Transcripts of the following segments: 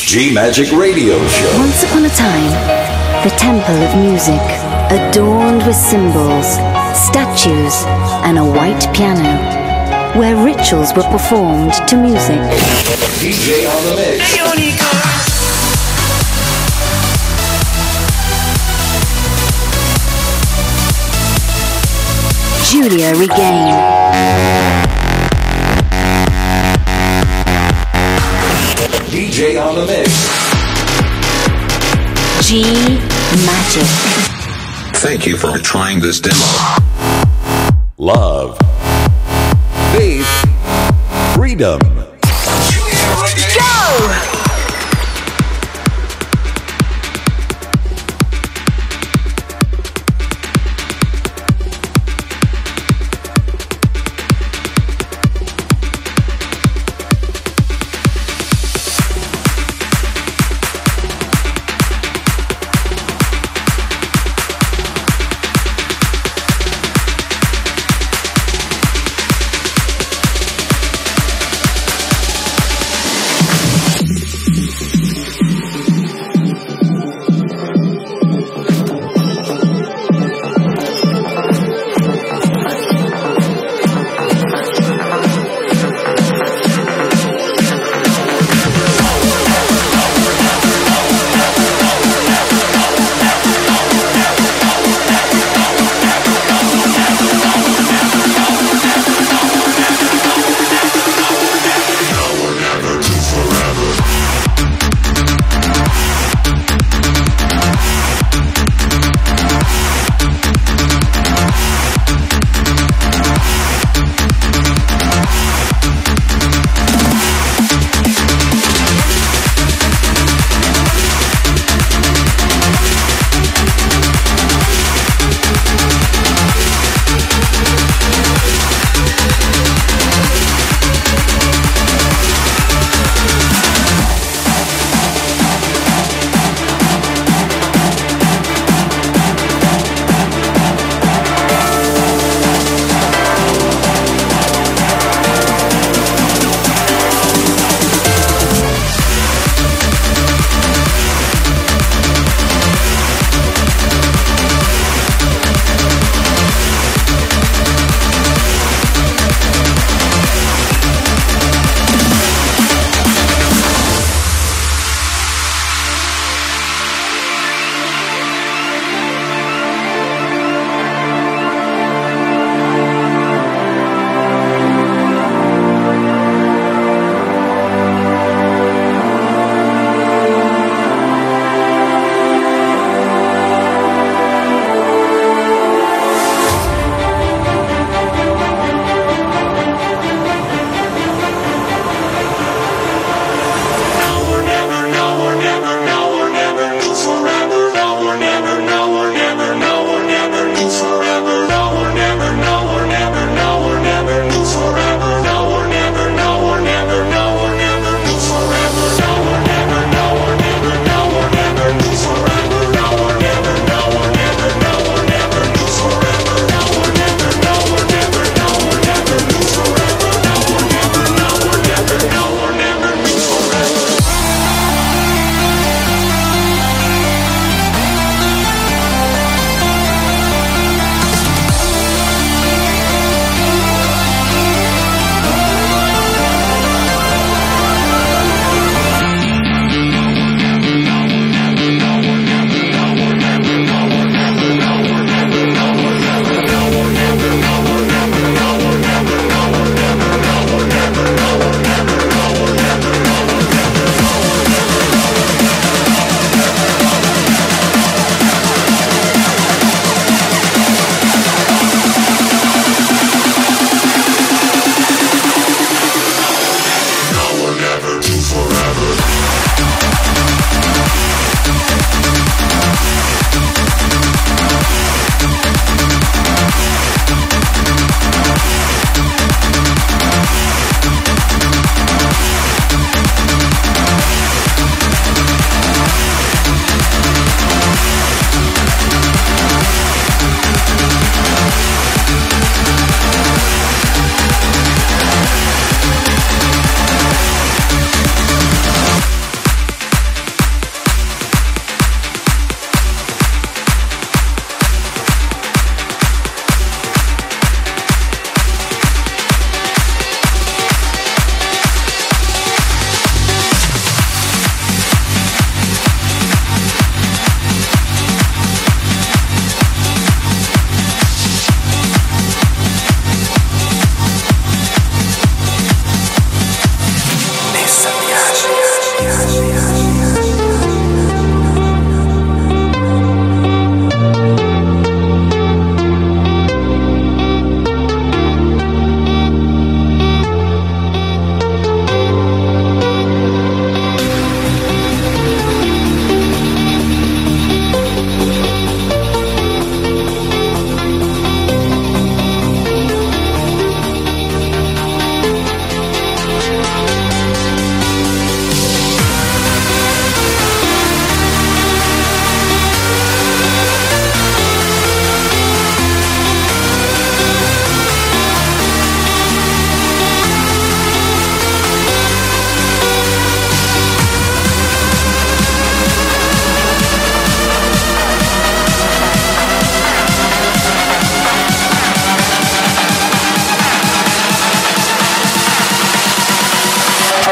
G Magic Radio Show. Once upon a time, the temple of music, adorned with symbols, statues, and a white piano, where rituals were performed to music. DJ on the mix. Giulia Regain. DJ on the mix. G Magic. Thank you for trying this demo. Love. Faith. Freedom. Go!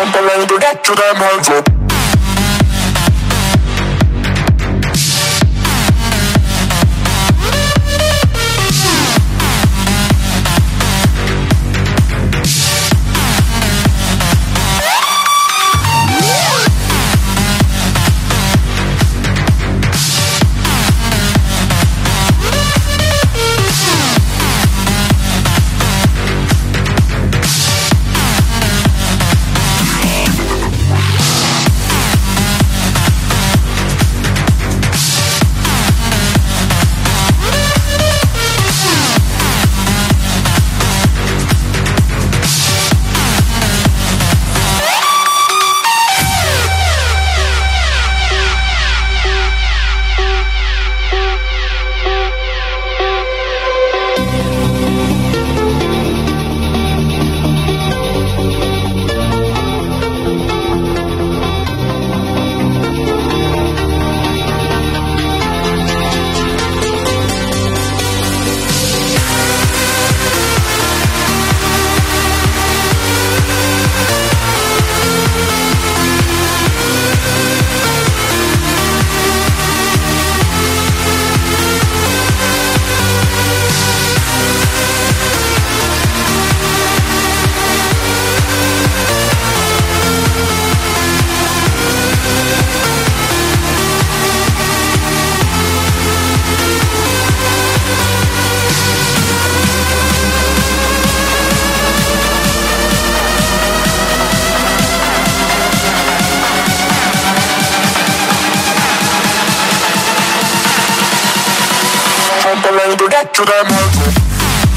Trampoline to get to them hands up. To get to them hands up.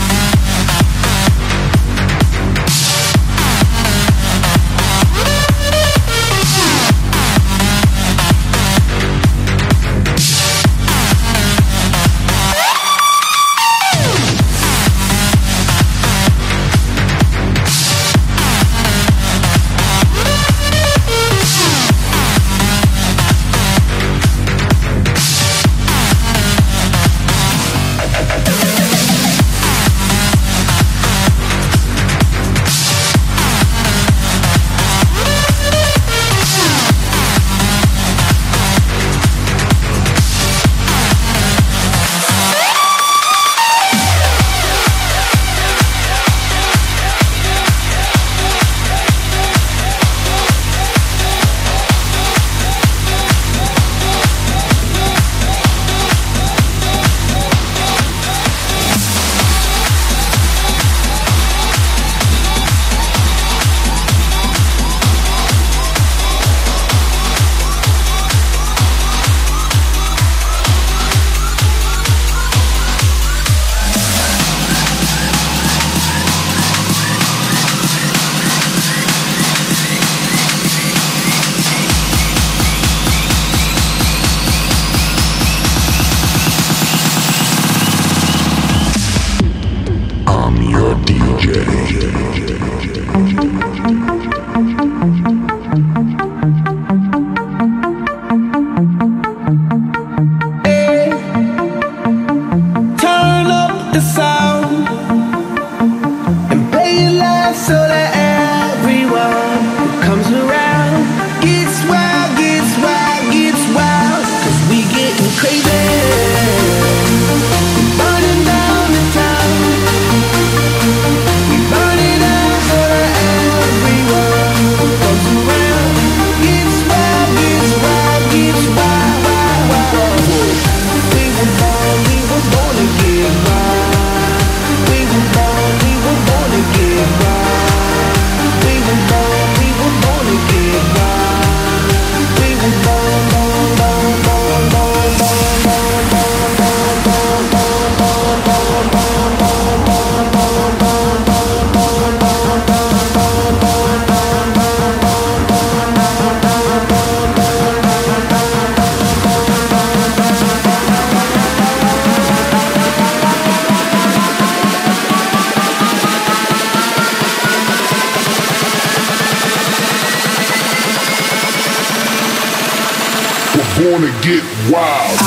Wanna get wild.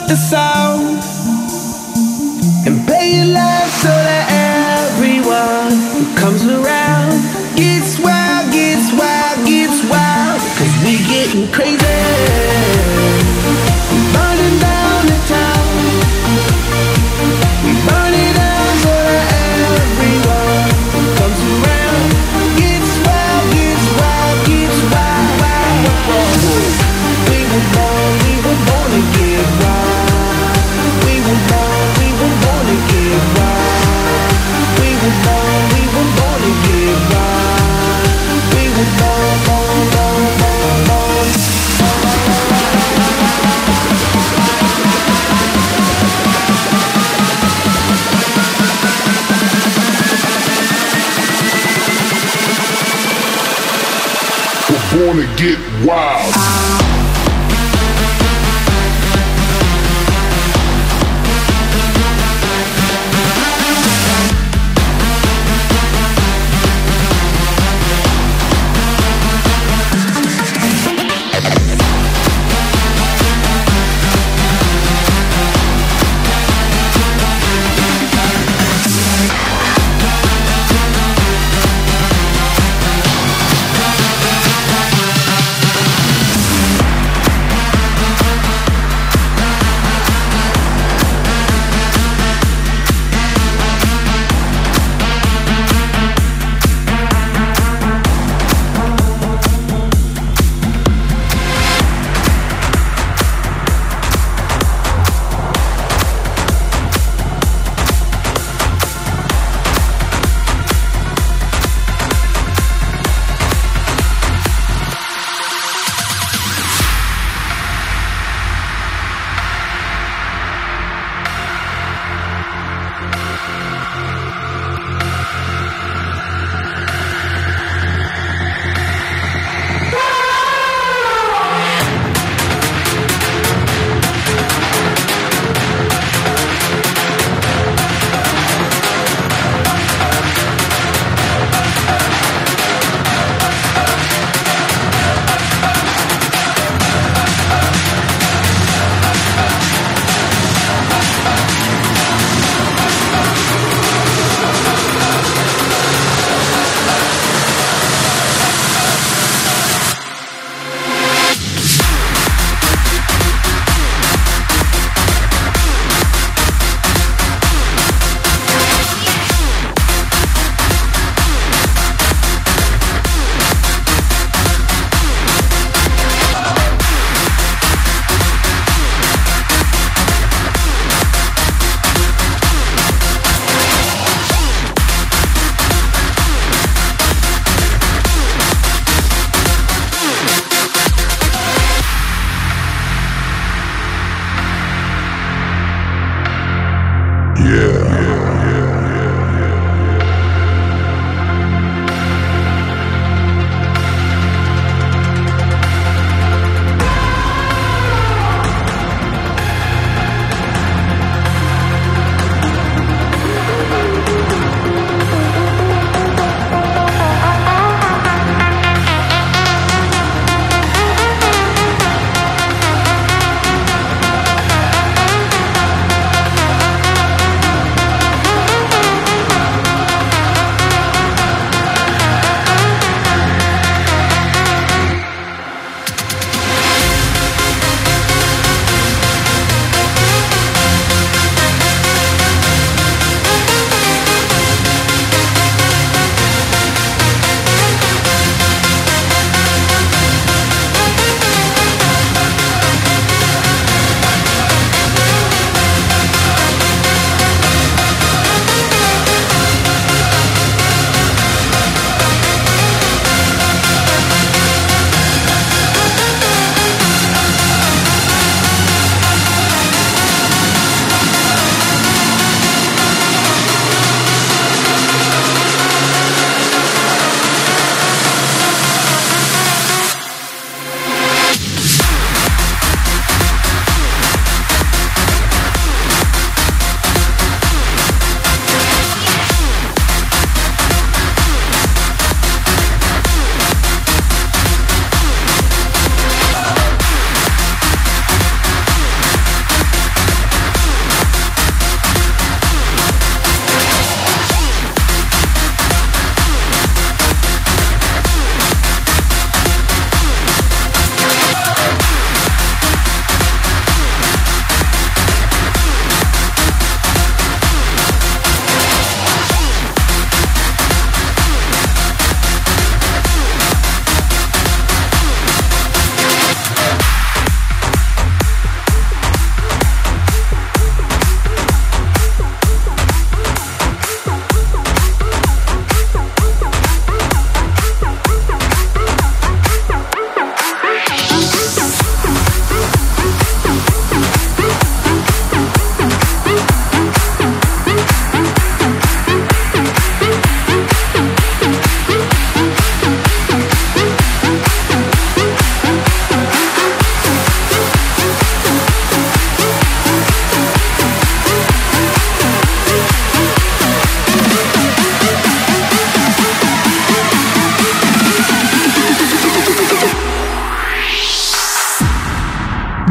the sound and play it loud so that everyone who comes around gets wild, gets wild, gets wild. Cause we getting crazy, burning down the town. We burn it down so that everyone who comes around gets wild, gets wild, gets wild, wild, wild. We were born to get wild. We were born to get wild. We were born to get wild. We were born. We're born to get wild.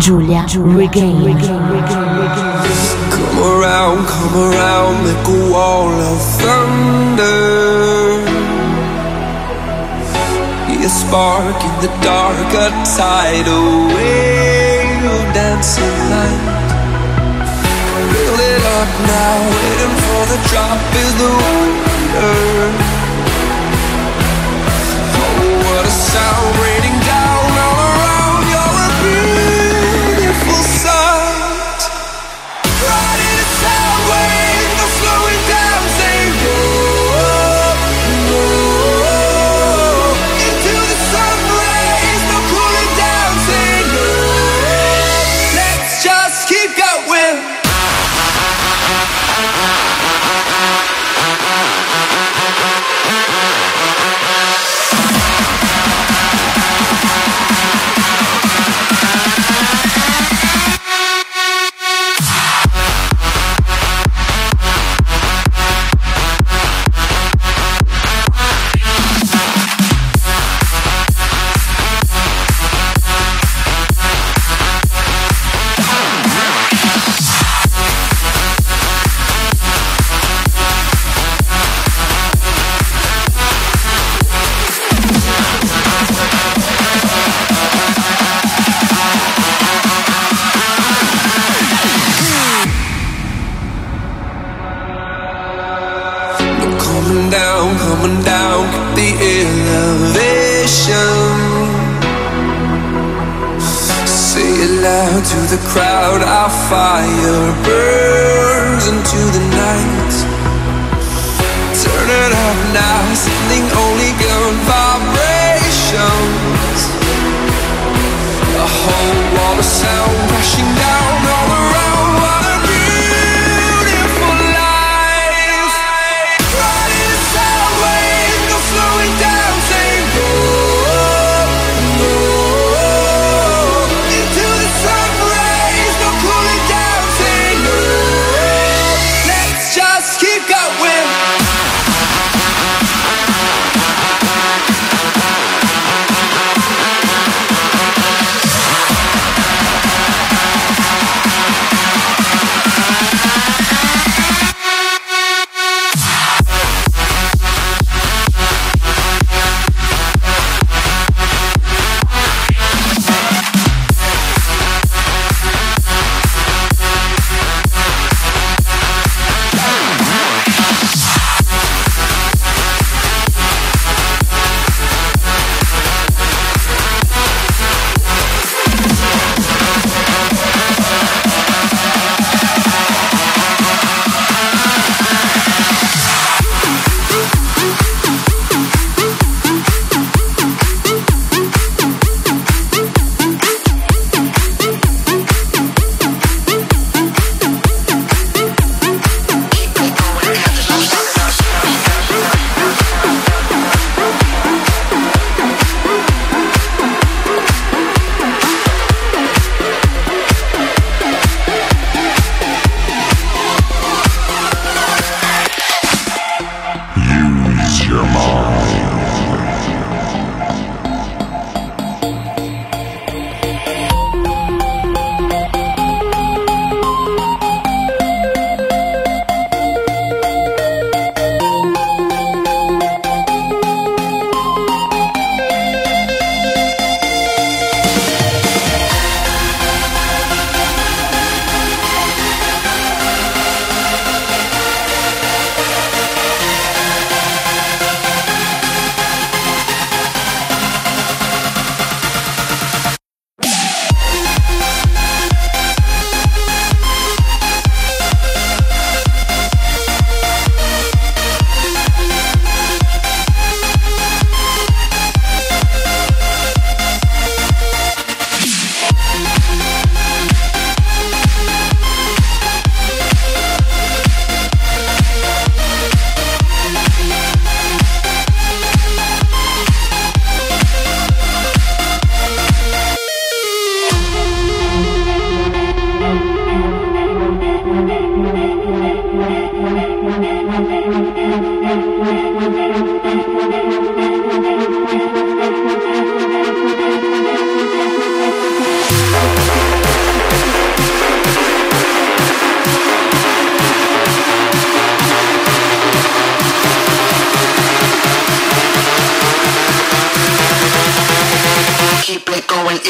Giulia Regain. Come around, make a wall of thunder. Be a spark in the dark, a tidal wave of dancing light. Build it up now, waiting for the drop is the wonder. Oh, what a sound raining down all around. You're a beautiful sight. Riding a sound wave, no slowing down, say go, go. Into the sun rays, no cooling down, say no. Let's just keep going. Coming down, get the elevation. Say it loud to the crowd, our fire burns into the night. Turn it up now, sending only good vibrations. A whole wall of sound crashing down all around. What a beautiful life. Riding a sound wave, no slowing down, say go, go. Into the sun rays, no cooling down, say no. Let's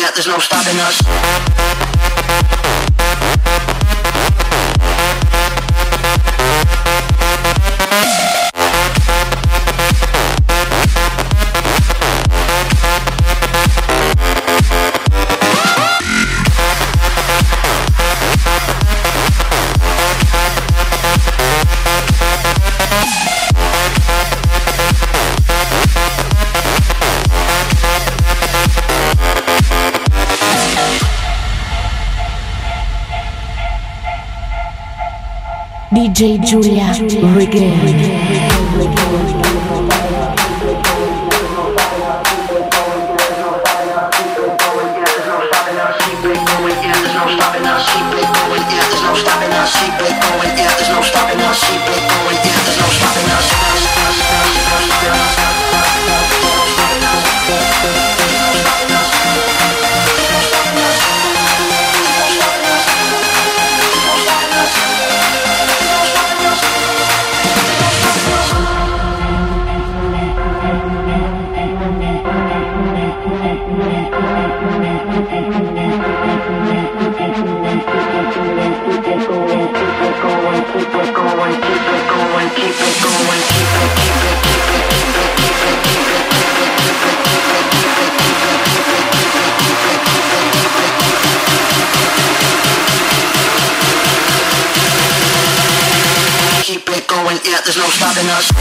yet, there's no stopping us. DJ Giulia Reggae. Yeah, there's no stopping us.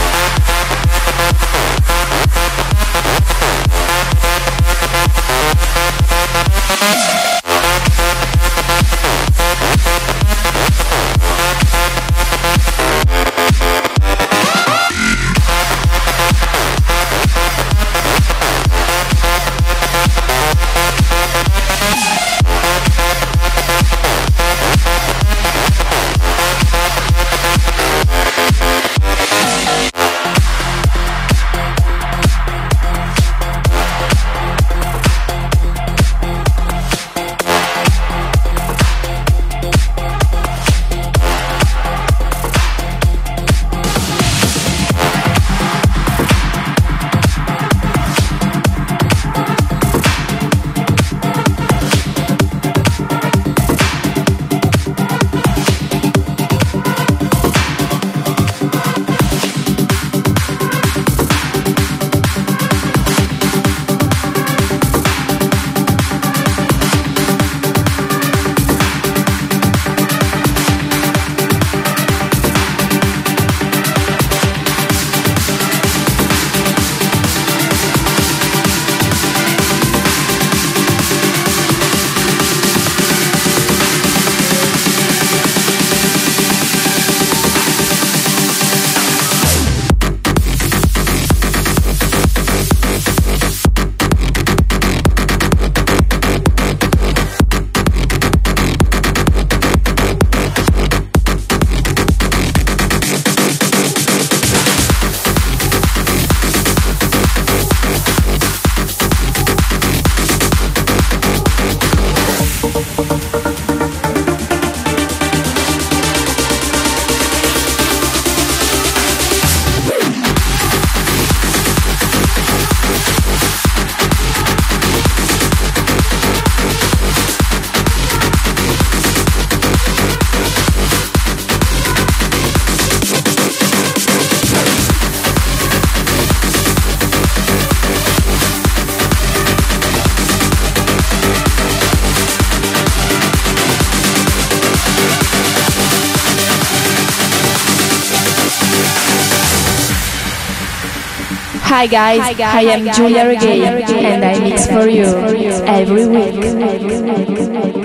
Hi guys, I am Giulia Reggae and I mix for you every week.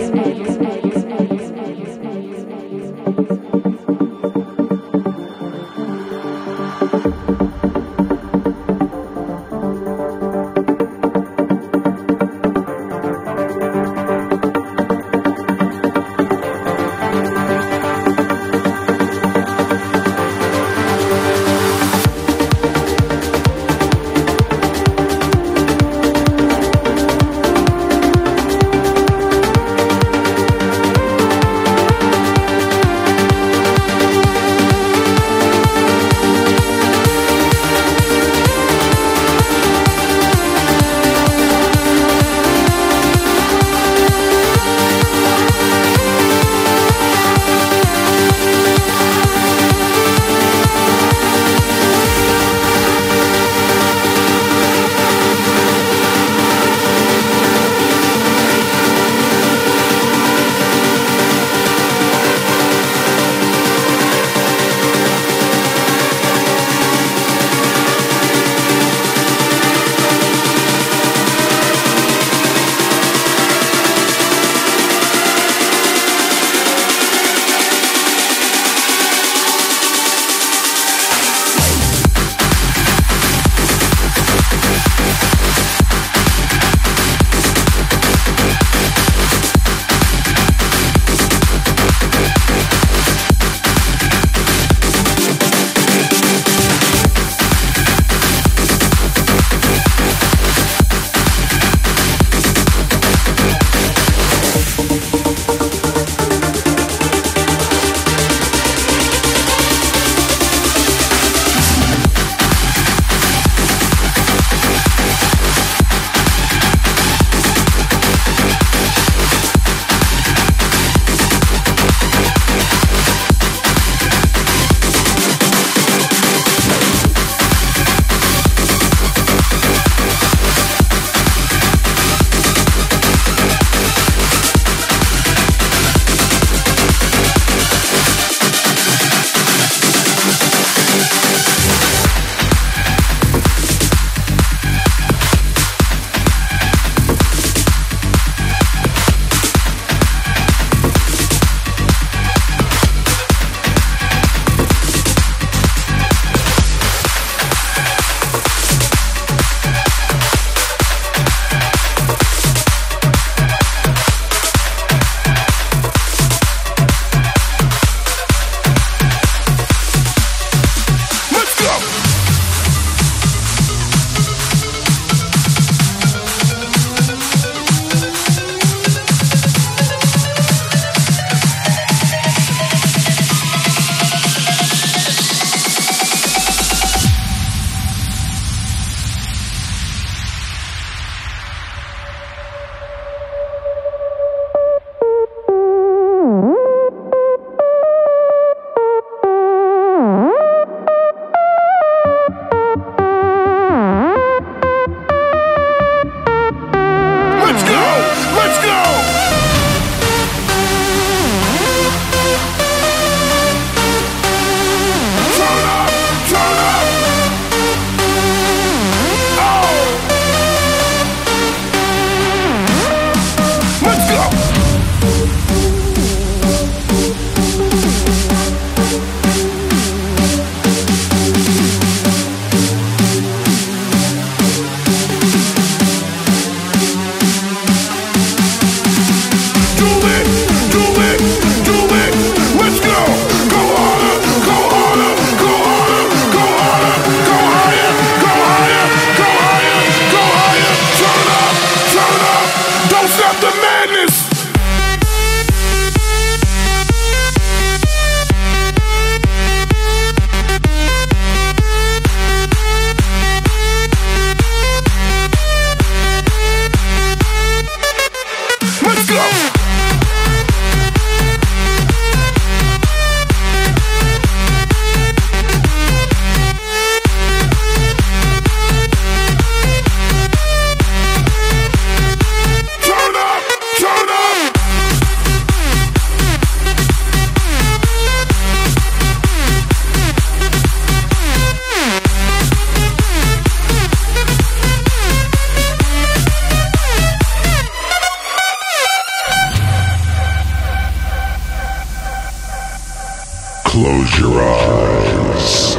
Close your eyes.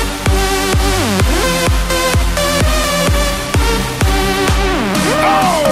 Oh!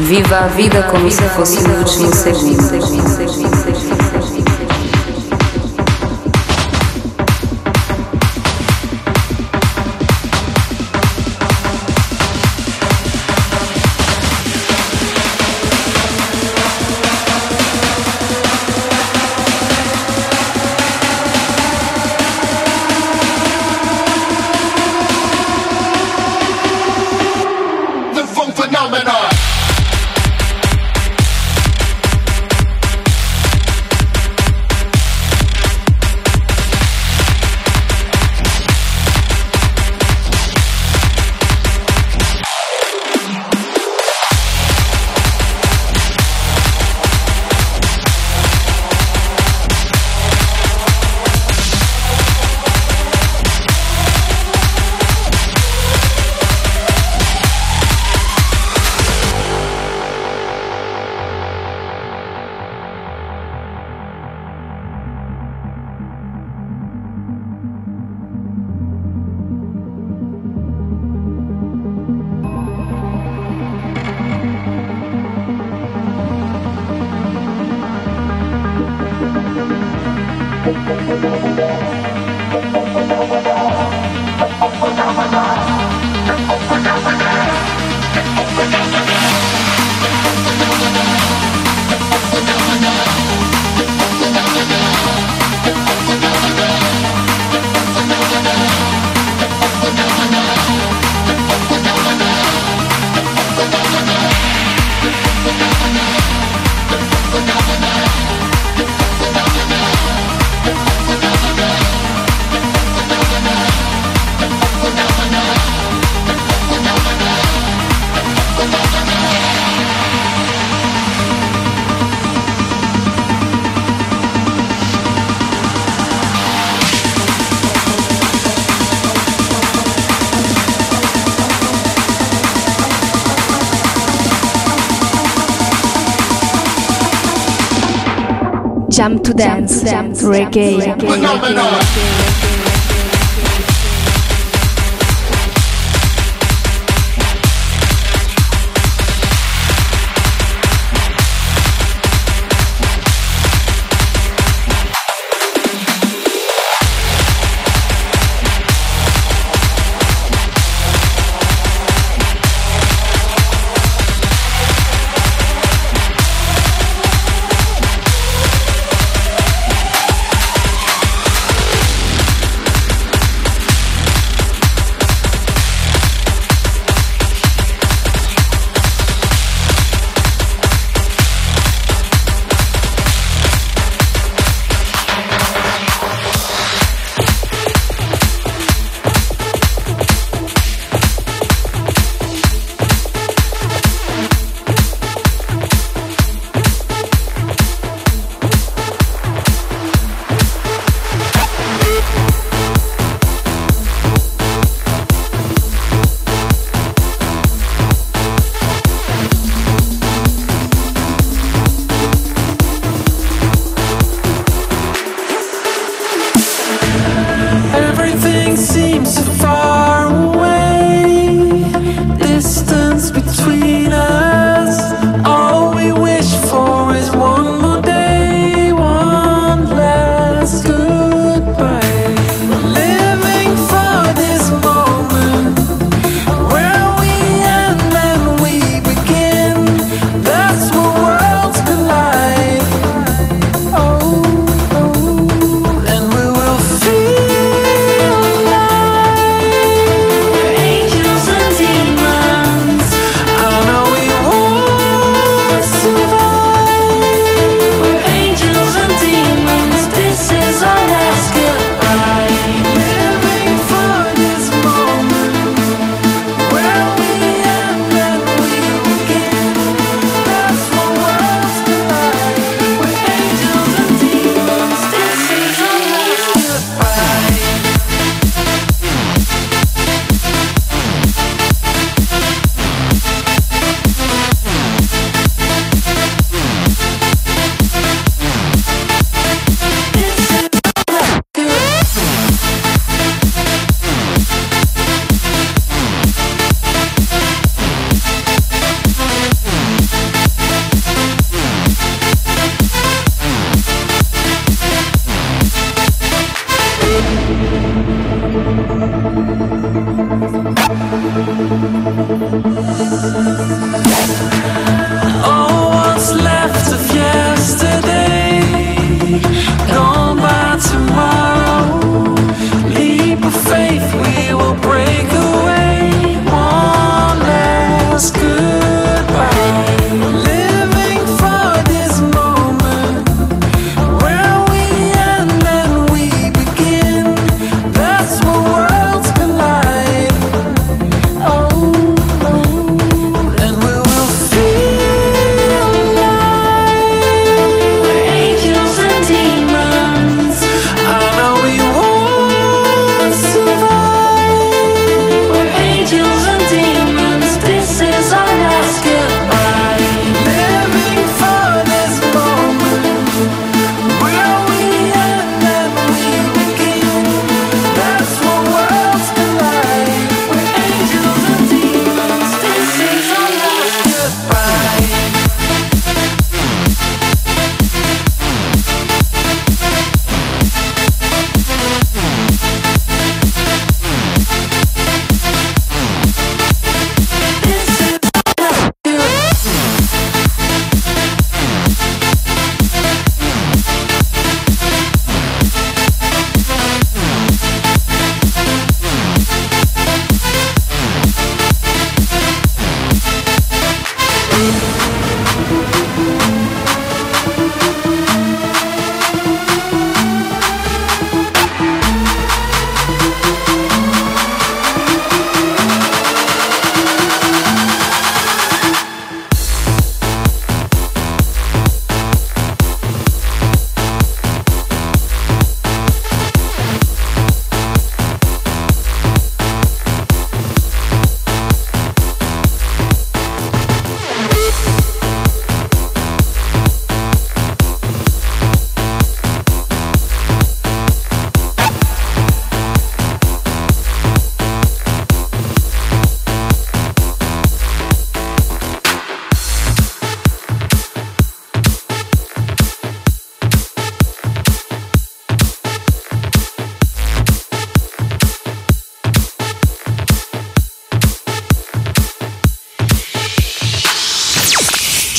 Viva a vida como se fosse o último segundo. Jump to dance, reggae.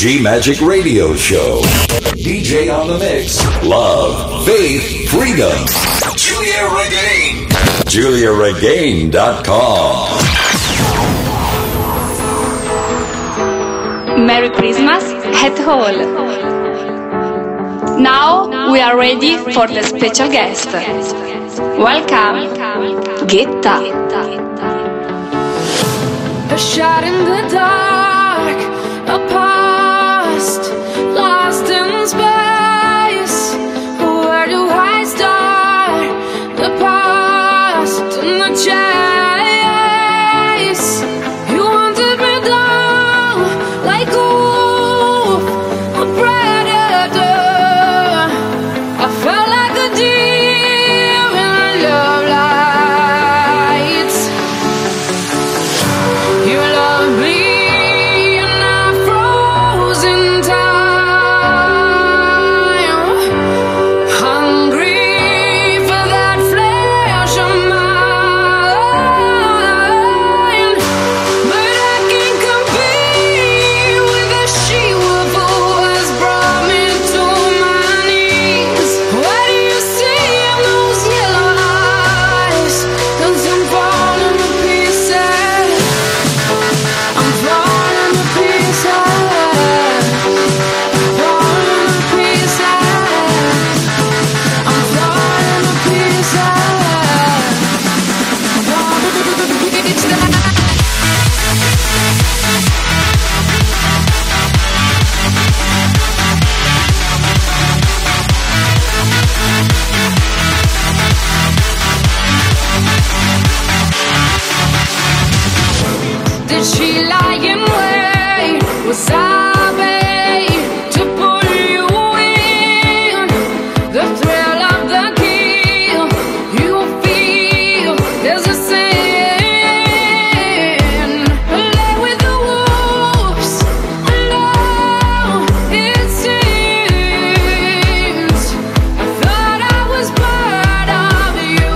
G-Magic Radio Show. DJ on the mix. Love, faith, freedom. Julia Regain. JuliaRegain.com. Merry Christmas at all. Now we are ready for the special guest. Welcome, Ghetta. A shot in the dark, a past lost in space. Where do I start? The past and the chase. You wanted me down like a wolf, a predator. I felt like a deer in the love lights. You love me and I froze in time, hungry for that flesh of mine. But I can't compete with the she-wolf who has brought me to my knees. What do you see in those yellow eyes? 'Cause I'm falling to pieces. I'm falling to pieces. Falling to pieces. I'm falling to pieces. Falling to pieces. Did she lie in wait? Was I bait to pull you in? The thrill of the kill, you feel there's a sin. Lay with the wolves, alone it seems. I thought I was part of you.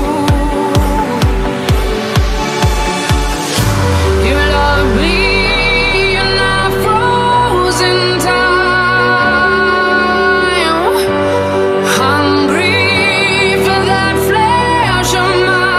You love me and I froze in time, hungry for that flesh of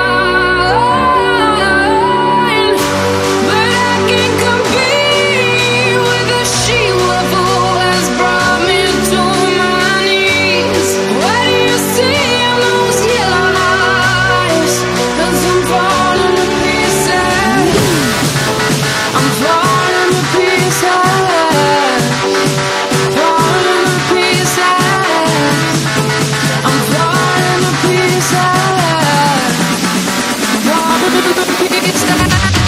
mine. But I can't compete with the she-wolf who has brought me to my knees. What do you see in those yellow eyes? 'Cause I'm falling to pieces. I'm falling to pieces. Falling to pieces. I'm falling to pieces. Falling to pieces.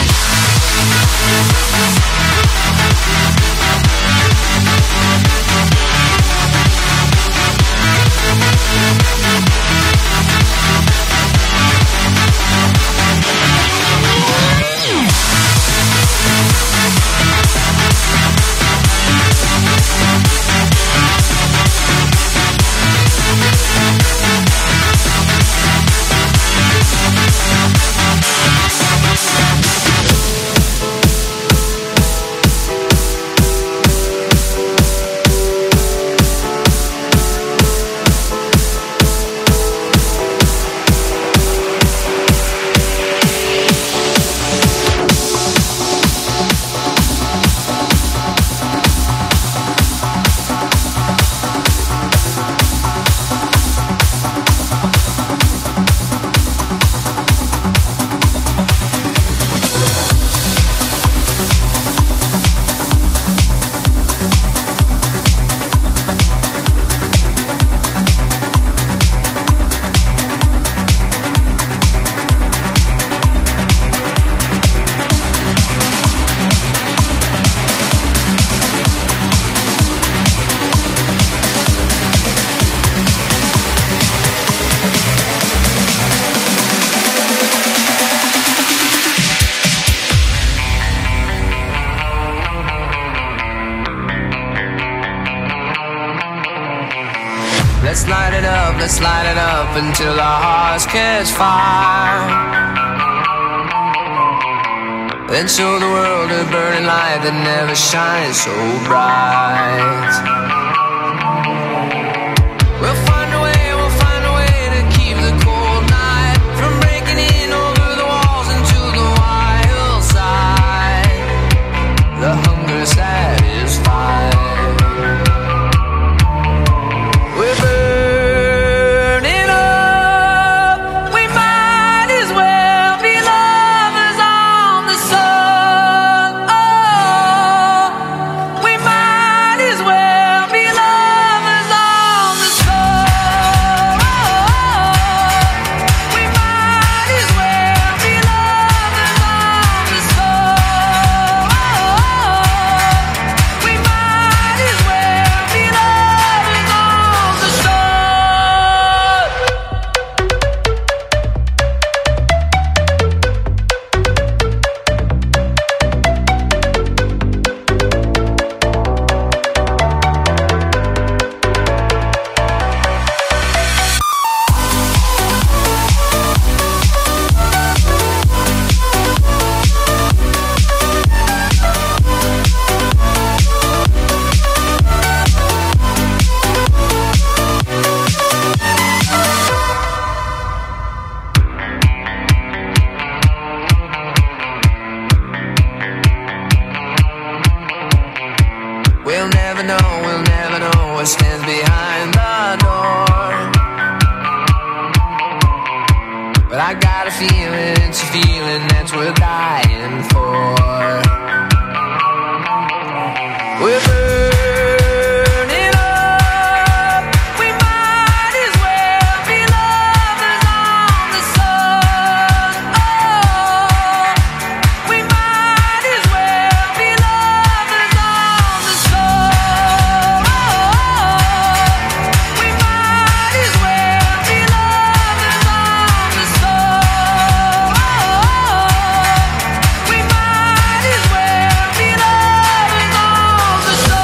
Let's light it up until our hearts catch fire. then show the world a burning light that never shines so bright. We'll find a way to keep the cold night from breaking in over the walls into the wild side. The hunger satisfied. We're burning up. We might as well be lovers on the sun. Oh, we might as well be lovers on the sun. We might as well be lovers on the sun. We might as well be lovers on the sun. We'll never know what stands behind the door. But I got a feeling, it's a feeling that's worth dying for. We're burning up. We might as well be lovers on the sun. Oh, we might as well be lovers on the sun. We might as well be lovers on the sun. We might as well be lovers on the sun.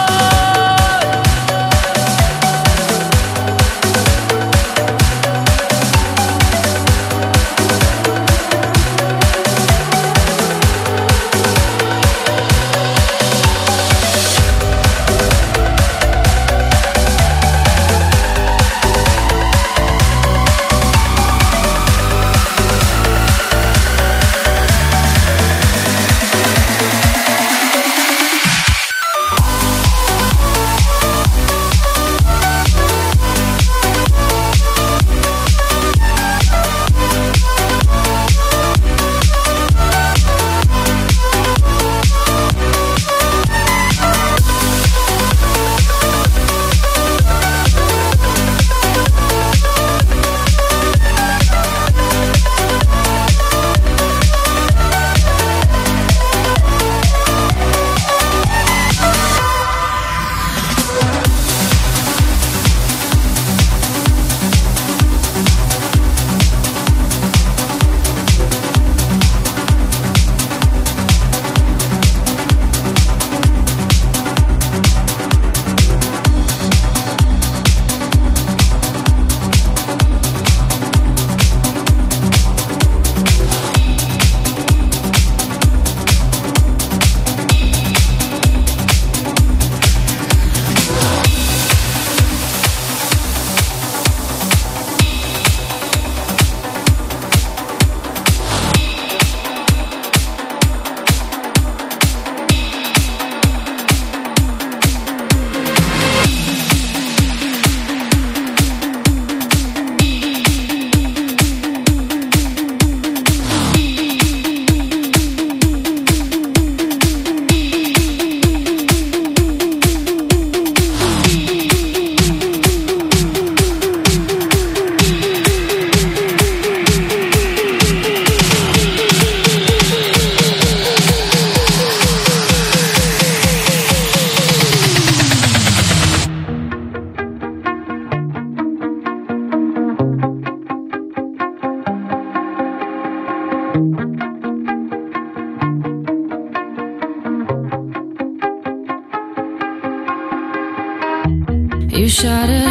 You shout it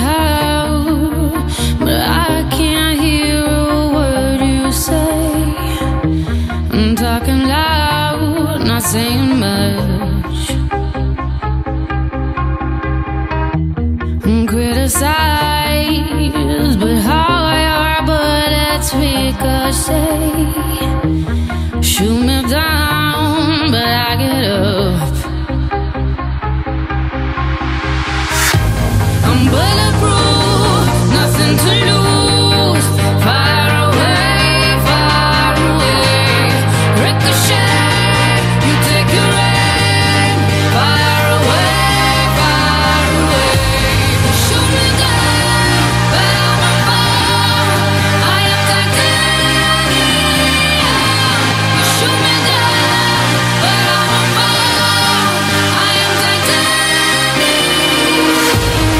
out, but I can't hear a word you say. I'm talking loud. saying much. Criticize, but how your bullets ricochet. Shoot me down, but I get up. I'm bulletproof, nothing to lose. Fire away, far away. Ricochet, you take your aim. Fire away, far away. Shoot me down, but I'm a bomb. I am titanium. You shoot me down, but I'm a bomb. I am titanium.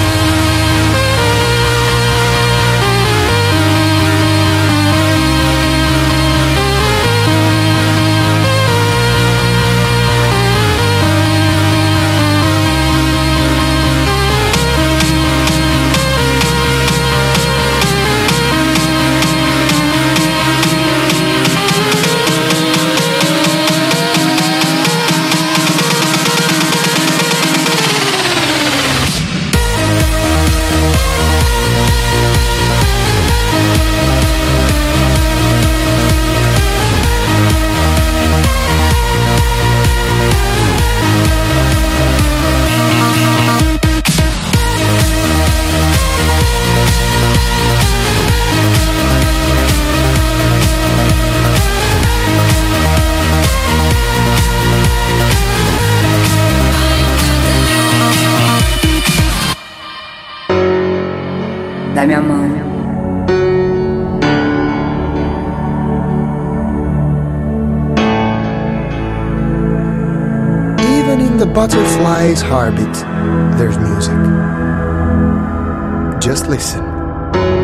Dammi a mano. Even in the butterfly's heartbeat, there's music. Just listen.